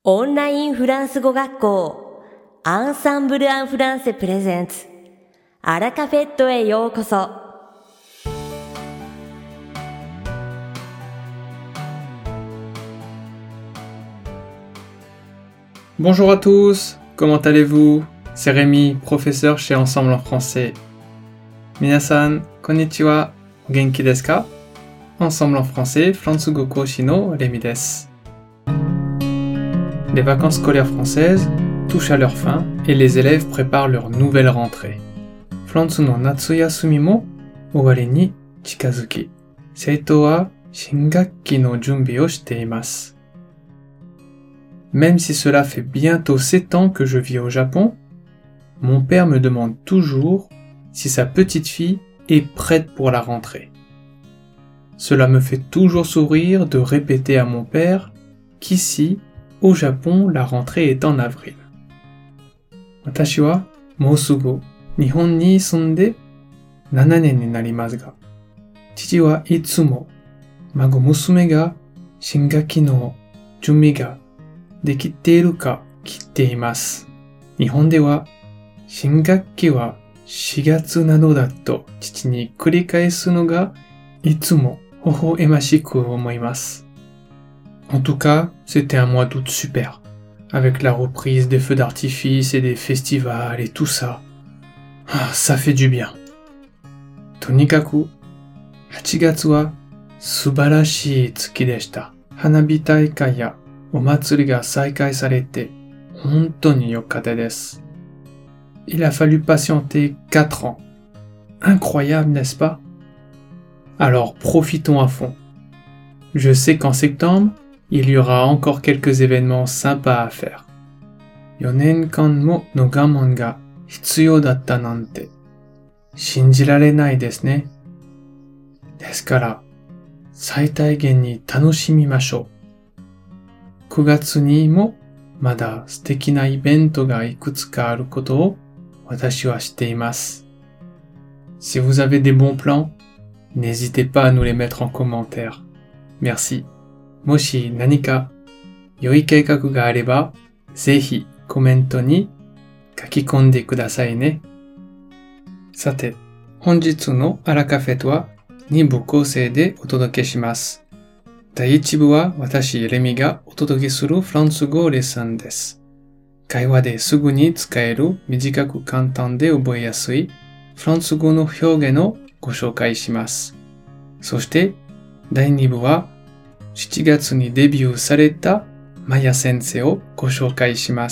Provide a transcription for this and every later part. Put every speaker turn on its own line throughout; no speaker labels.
オンラインフランス語学校アンサンブル・アン・フランセプレゼンツアラカフェットへようこそ。
Bonjour à tous, comment allez-vous? C'est Rémi, professeur chez Ensemble en français. Minasan, konnichiwa, genki desu ka? Ensemble en français, Fransugo Koshi no Rémi desu. Les vacances scolaires françaises touchent à leur fin et les élèves préparent leur nouvelle rentrée. Fransu no natsuyasumi mo owari ni chikazuki, seitou wa shingakki no junbi o shite imasu. Même si cela fait bientôt 7 ans que je vis au Japon, mon père me demande toujours si sa petite fille est prête pour la rentrée. Cela me fait toujours sourire de répéter à mon père qu'ici, au Japon, la rentrée est en avril. Watashi wa mou sugu Nihon ni sunde 7 nen ni narimasu ga, chichi wa itsumo mago musume ga shingaki no junbi ga できているか聞いています。日本では新学期は4月などだと父に繰り返すのがいつも微笑ましく思います。En tout cas, c'était un mois d'août super, avec la reprise des feux d'artifice et des festivals et tout ça. Ah, ça fait du bien. とにかく8月は素晴らしい月でした。花火大会やお祭りが再開されて本当に良かったです。Il a fallu patienter 4 ans. Incroyable, n'est-ce pas? Alors profitons à fond. Je sais qu'en septembre, il y aura encore quelques événements sympas à faire. 4年間もの我慢が必要だったなんて信じられないですね。ですから最大限に楽しみましょう。9月にもまだ素敵なイベントがいくつかあることを私は知っています。Si vous avez des bons plans, n'hésitez pas à nous les mettre en commentaire. Merci. もし何か良い計画があれば、ぜひコメントに書き込んでくださいね。さて、本日のアラカフェとは2部構成でお届けします。第1部は私、レミがお届けするフランス語レッスンです。会話ですぐに使える短く簡単で覚えやすいフランス語の表現をご紹介します。そして第2部は7月にデビューされたマヤ先生をご紹介します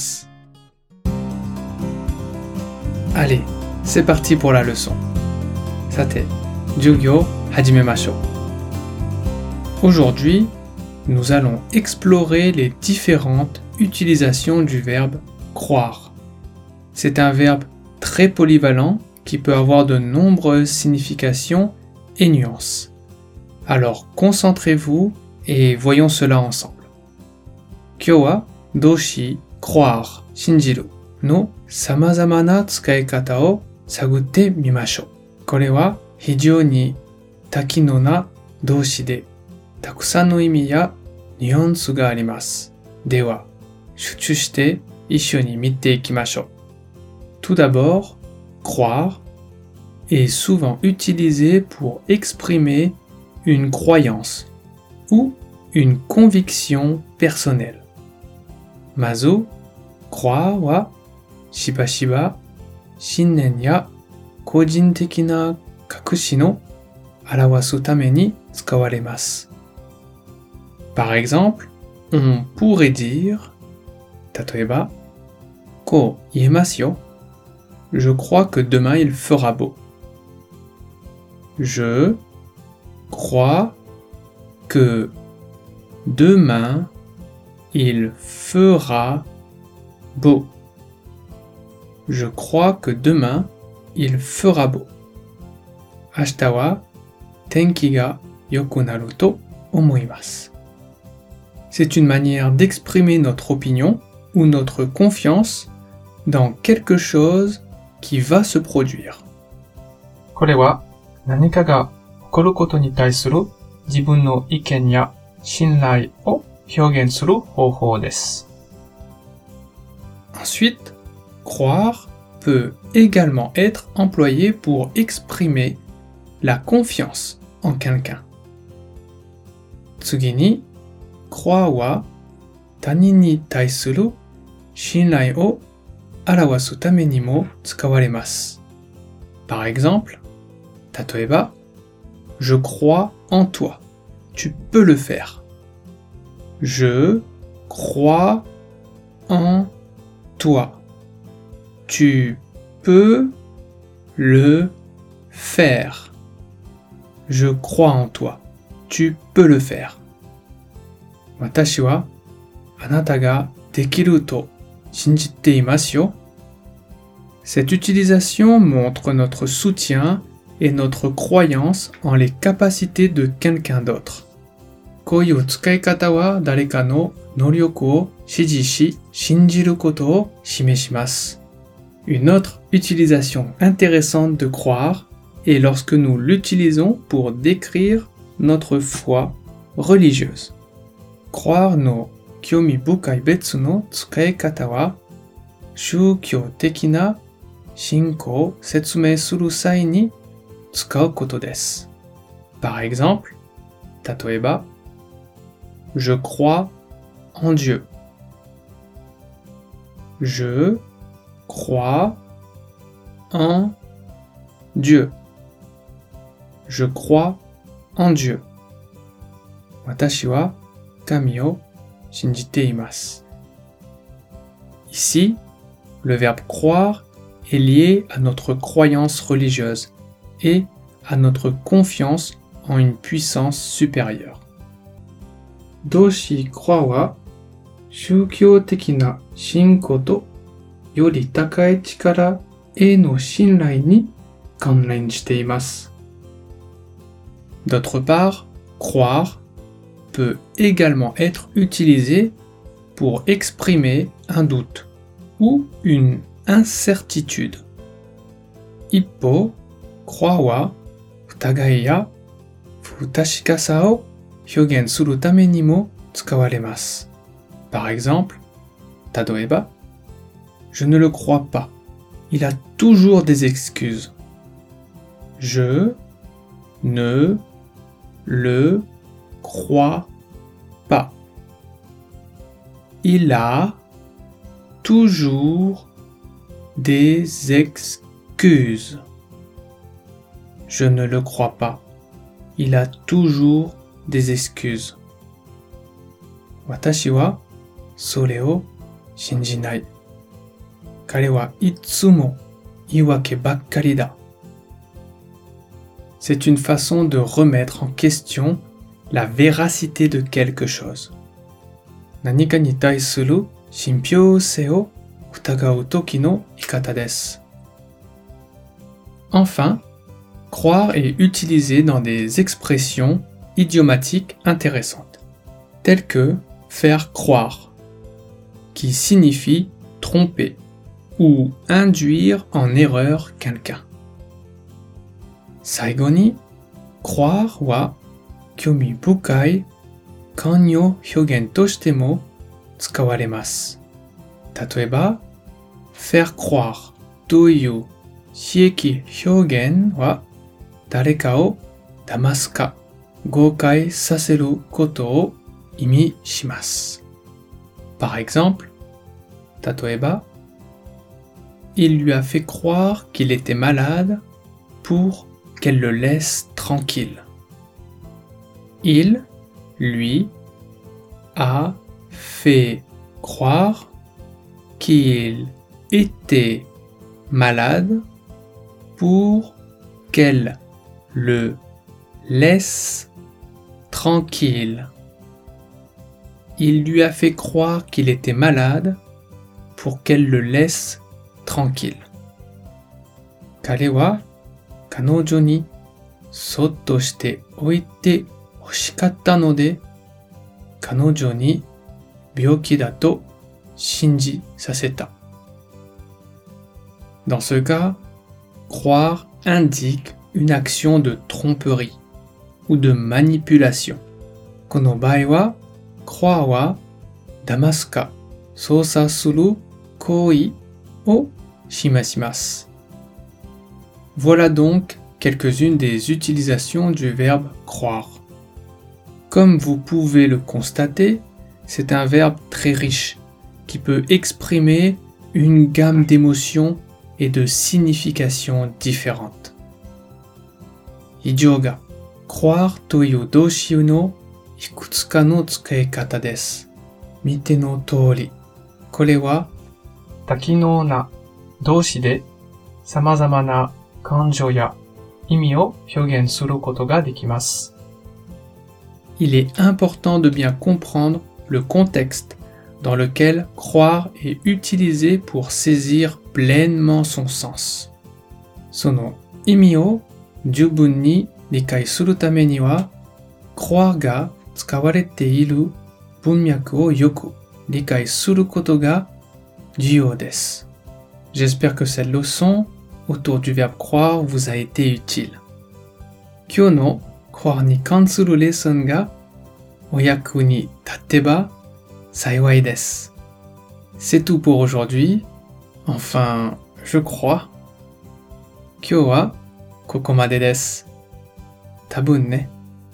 。Allez, c'est parti pour la leçon. さて、授業始めましょう。Aujourd'hui, nous allons explorer les différentes utilisations du verbe croire. C'est un verbe très polyvalent qui peut avoir de nombreuses significations et nuances. Alors concentrez-vous et voyons cela ensemble. 今日は動詞croire 信じるの様々な使い方を探ってみましょう。これは非常に多機能な動詞でたくさんの意味やニュアンスがあります。では、集中して一緒に見ていきましょう。Tout d'abord, croire est souvent utilisé pour exprimer une croyance ou une conviction personnelle. まず、croire はしばしば信念や個人的な確信を表すために使われます。Par exemple, on pourrait dire, 例えば、こう言えますよ。Je crois que demain il fera beau. Je crois que demain il fera beau. Je crois que demain il fera beau. 明日は天気が良くなると思います。C'est une manière d'exprimer notre opinion ou notre confiance dans quelque chose qui va se produire. これは何かが起こることに対する自分の意見や信頼を表現する方法です。 Ensuite, croire peut également être employé pour exprimer la confiance en quelqu'un. Tsugi ni, croire wa tanin ni taisuru shinrai o arawasu tame ni mo tsukawaremasu. Par exemple, tatoeba, je crois en toi. Tu peux le faire. Je crois en toi. Tu peux le faire. Je crois en toi. Tu peux le faire. Watashi wa anata ga dekiru to shinjite imasu yo. Cette utilisation montre notre soutien et notre croyance en les capacités de quelqu'un d'autre. Koiu tsukaikata wa dareka no noryoku o shiji shi shinjiru koto o shimeshimasu. Une autre utilisation intéressante de croire est lorsque nous l'utilisons pour décrire notre foi religieuse. Croire no kyomi bukai betsu no tsukaikata wa shūkyō tekina shinko o setsumei suru sai ni tsukau koto desu. Par exemple, tatoeba, je crois en Dieu. Je crois en Dieu. Je crois en Dieu. Watashi wa kami o shinjite imasu. Ici, le verbe croire est lié à notre croyance religieuse et à notre confiance en une puissance supérieure. Doshi croire wa shūkyō tekina shinko to yori takai chikara e no shinrai ni kanren shite imasu. D'autre part, croire peut également être utilisé pour exprimer un doute ou une incertitude. Ippo, croire wa futagai ya futashikasa o hyogen suru tame ni mo tsukawaremasu. Par exemple, tadoeba, je ne le crois pas. Il a toujours des excuses. Je ne le crois pas. Il a toujours des excuses. Je ne le crois pas. Il a toujours des excuses. Watashi wa sore o shinjinai. Kare wa itsumo iwake bakkari da. C'est une façon de remettre en question la véracité de quelque chose. Nanika ni taisuru shinpyōsei o futagau toki no ikata desu. Enfin, croire est utilisé dans des expressions idiomatiques intéressantes, telles que faire croire, qui signifie tromper ou induire en erreur quelqu'un. Saigo ni, croire wa kyomi bukai kanyo hyogen to shite mo tsukawaremasu. Tatoeba, faire croire to iu shieki hyogen wa dareka o damasu ka gokai saseru koto o imi shimasu. Par exemple, tatoeba, il lui a fait croire qu'il était malade pour qu'elle le laisse tranquille. Il lui a fait croire qu'il était malade pour qu'elle le laisse tranquille. Il lui a fait croire qu'il était malade pour qu'elle le laisse tranquille. Kare wa kanojo ni sotto shite oite hoshikatta no de kanojo ni byoki da to shinji saseta. Dans ce cas, croire indique une action de tromperie ou de manipulation. Kono bae wa croire wa damasu ka sousa suru 行為を示します。Voilà donc quelques-unes des utilisations du verbe croire. Comme vous pouvez le constater, c'est un verbe très riche qui peut exprimer une gamme d'émotions et de significations différentes. 以上が croire という動詞のいくつかの使い方です。見ての通り、これは多機能な動詞で様々な感情や意味を表現することができます。Il est important de bien comprendre le contexte dans lequel croire est utilisé pour saisir pleinement son sens. その意味を十分に理解するためには、croire が使われている文脈をよく理解することが重要です。J'espère que cette leçon autour du verbe croire vous a été utile. 今日の croire に関するレッスンがお役に立てば幸いです。C'est tout pour aujourd'hui. Enfin, je crois. 今日はここまでです。多分ね。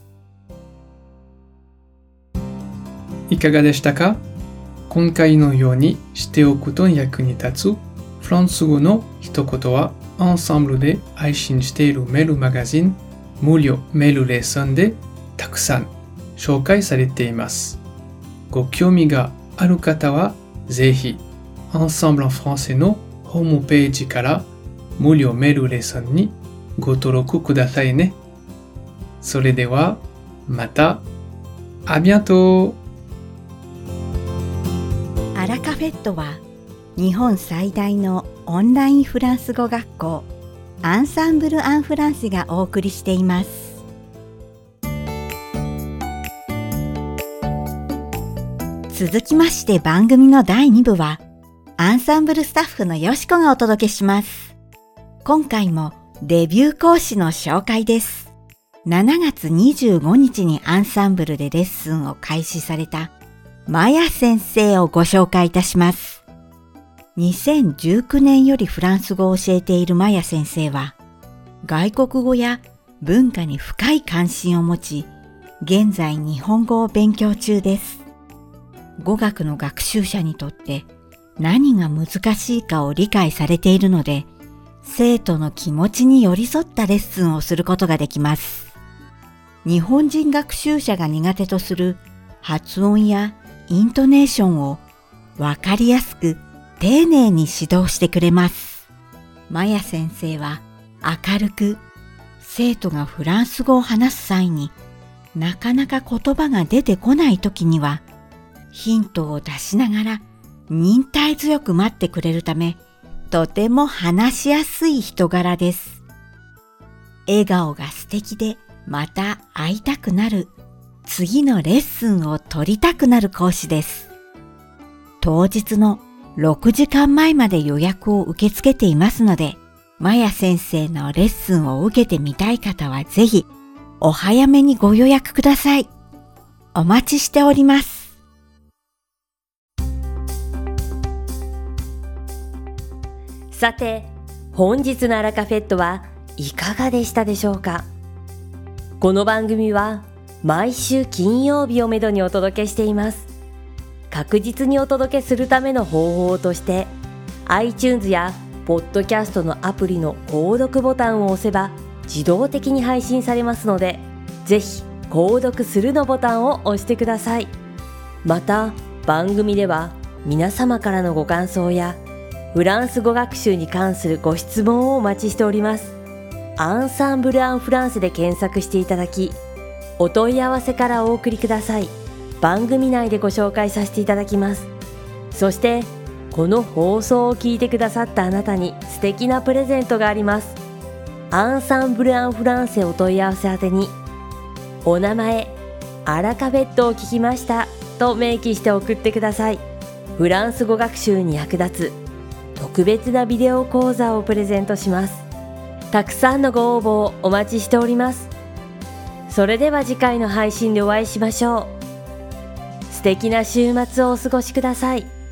いかがでしたか？今回のようにしておくと役に立つフランス語の一言はアンサンブルで配信しているメールマガジン無料メールレッスンでたくさん紹介されています。ご興味がある方はぜひEnsemble en françaisのホームページから無料メールレッスンにご登録くださいね。それではまた。À bientôt!
アラカフェットは日本最大のオンラインフランス語学校アンサンブル・アン・フランセがお送りしています。続きまして番組の第2部はアンサンブルスタッフのよしこがお届けします。今回もデビュー講師の紹介です。7月25日にアンサンブルでレッスンを開始されたマヤ先生をご紹介いたします。2019年よりフランス語を教えているマヤ先生は、外国語や文化に深い関心を持ち、現在日本語を勉強中です。語学の学習者にとって何が難しいかを理解されているので、生徒の気持ちに寄り添ったレッスンをすることができます。日本人学習者が苦手とする発音やイントネーションをわかりやすく丁寧に指導してくれます。マヤ先生は明るく、生徒がフランス語を話す際になかなか言葉が出てこないときにはヒントを出しながら忍耐強く待ってくれるため、とても話しやすい人柄です。笑顔が素敵でまた会いたくなる、次のレッスンを取りたくなる講師です。当日の6時間前まで予約を受け付けていますので、マヤ先生のレッスンを受けてみたい方はぜひお早めにご予約ください。お待ちしております。
さて、本日のアラカフェットはいかがでしたでしょうか？この番組は毎週金曜日をめどにお届けしています。確実にお届けするための方法として iTunes やポッドキャストのアプリの購読ボタンを押せば自動的に配信されますので、ぜひ購読するのボタンを押してください。また番組では皆様からのご感想やフランス語学習に関するご質問をお待ちしております。アンサンブル・アン・フランセで検索していただき、お問い合わせからお送りください。番組内でご紹介させていただきます。そしてこの放送を聞いてくださったあなたに素敵なプレゼントがあります。アンサンブル・アン・フランセお問い合わせ宛てに、お名前、アラカフェットを聞きましたと明記して送ってください。フランス語学習に役立つ特別なビデオ講座をプレゼントします。たくさんのご応募をお待ちしております。それでは次回の配信でお会いしましょう。素敵な週末をお過ごしください。